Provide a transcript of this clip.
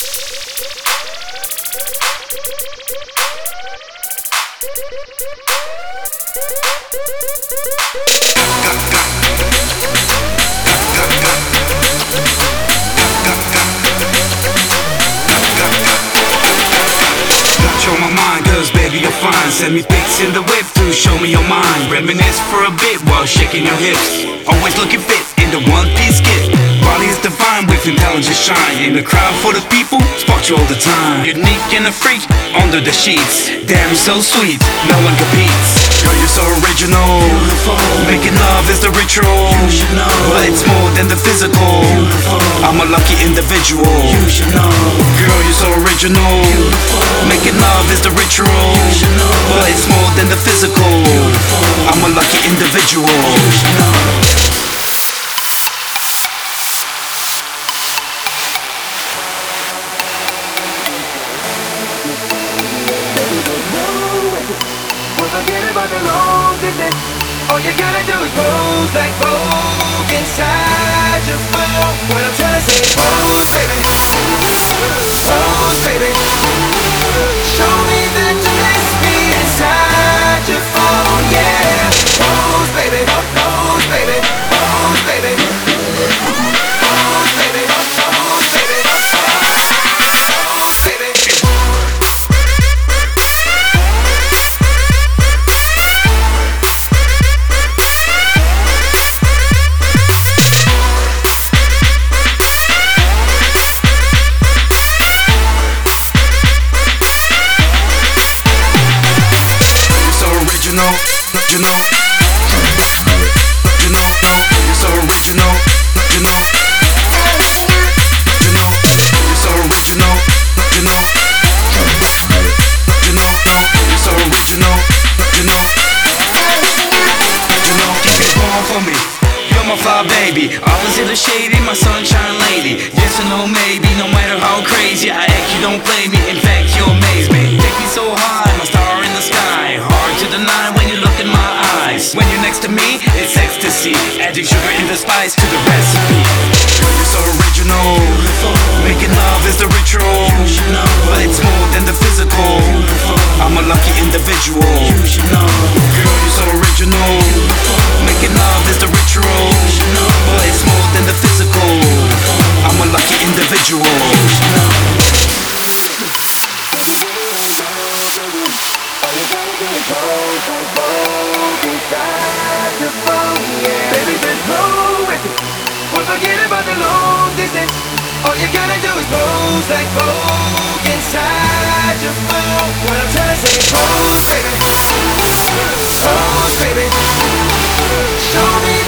Control my mind, cause baby you're fine. Send me pics in the whip to show me your mind. Reminisce for a bit while shaking your hips. Always looking fit in the one-piece kit. Body is divine with intelligence shine. In the crowd for the people, spot you all the time. Unique and a freak under the sheets. Damn, you're so sweet, no one competes. Girl, you're so original, beautiful. Making love is the ritual, you should know. But it's more than the physical, beautiful. I'm a lucky individual, you should know. Girl, you're so original, beautiful. Making love is the ritual, you should know. But it's more than the physical, beautiful. I'm a lucky individual, you should know. Forget about the long distance. All you gotta do is pose like Vogue inside your phone. What I'm trying to say, pose, baby. Pose, baby. Show me that you miss me inside your phone, yeah. Pose, baby. Pose, baby. Pose, baby. Pose, baby. Pose, baby. Pose, baby. You know, you're so original, you know, you're so original, you know, you're so original, you're born for me, you're my fly baby, always in the shady, my sunshine lady, yes or no maybe, no matter how crazy I act, you don't play me, in fact you amaze me, take me so high, my star in the sky, hard to deny when you look in my eyes, when you're next to me, it's ecstasy, adding sugar in the spice to the recipe. Girl, you're so original, beautiful. Making love is the ritual, you should know. But it's more than the physical, beautiful. I'm a lucky individual, you should know. Girl, you're so original, beautiful. Making love is the ritual, you should know. But it's more than the physical, beautiful. I'm a lucky individual, you should know. Baby, there's no record. Well, forget about the long distance. All you gotta do is pose like Vogue inside your phone. What I'm trying to say, pose, baby. Pose, baby. Show me